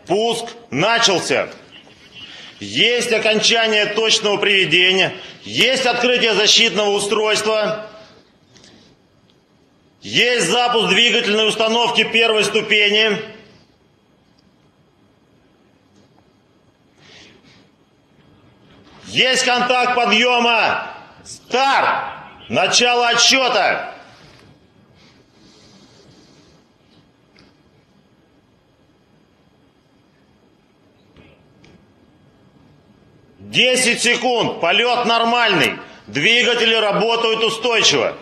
Пуск начался. Есть окончание точного приведения, есть открытие защитного устройства, есть запуск двигательной установки первой ступени. Есть контакт подъема. Старт. Начало отсчета. Десять секунд. Полет нормальный. Двигатели работают устойчиво.